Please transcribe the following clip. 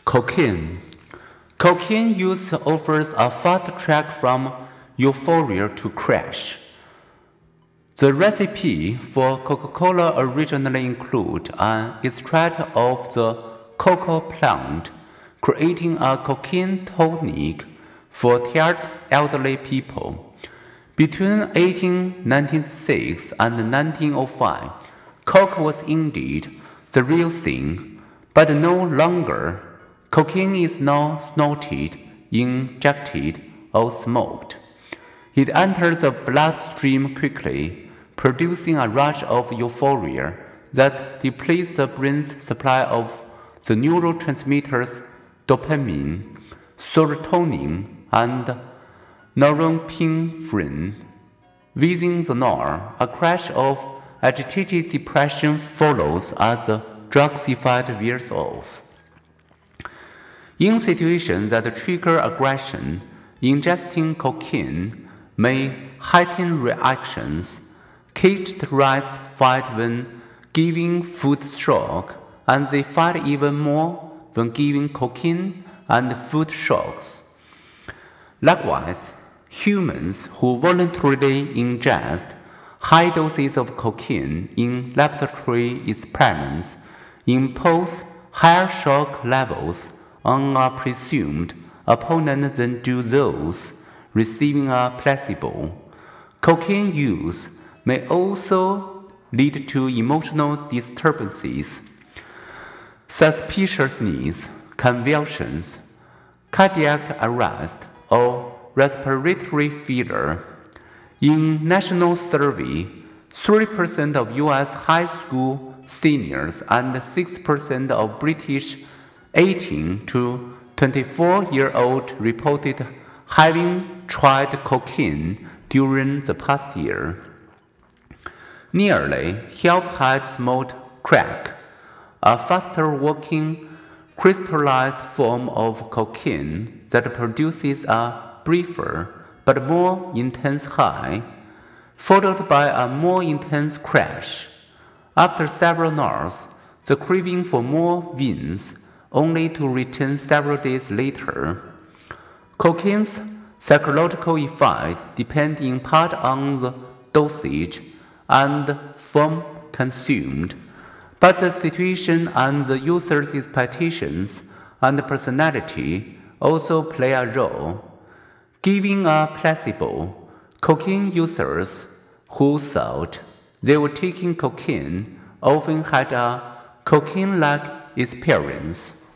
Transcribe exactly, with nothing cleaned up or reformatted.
Cocaine. Cocaine use offers a fast track from euphoria to crash. The recipe for Coca-Cola originally included an extract of the cocoa plant, creating a cocaine tonic for tired elderly people. Between eighteen ninety-six and nineteen oh five, Coke was indeed the real thing, but no longer. Cocaine is now snorted, injected, or smoked. It enters the bloodstream quickly, producing a rush of euphoria that depletes the brain's supply of the neurotransmitters dopamine, serotonin, and norepinephrine. Within the hour, a crash of agitated depression follows as the drug's effect wears off. In situations that trigger aggression, ingesting cocaine may heighten reactions, characterize fight when giving food shock, and they fight even more when giving cocaine and food shocks. Likewise, humans who voluntarily ingest high doses of cocaine in laboratory experiments impose higher shock levels on a presumed opponent than do those receiving a placebo. Cocaine use may also lead to emotional disturbances, suspiciousness, convulsions, cardiac arrest, or respiratory failure. In national survey, three percent of U S high school seniors and six percent of British eighteen to twenty-four-year-olds reported having tried cocaine during the past year. Nearly half had smoked crack, a faster-working crystallized form of cocaine that produces a briefer but more intense high, followed by a more intense crash. After several hours, the craving for more wins, only to return several days later. Cocaine's psychological effect depends in part on the dosage and form consumed, but the situation and the user's expectations and personality also play a role. Giving a placebo, cocaine users who thought they were taking cocaine often had a cocaine-like experience.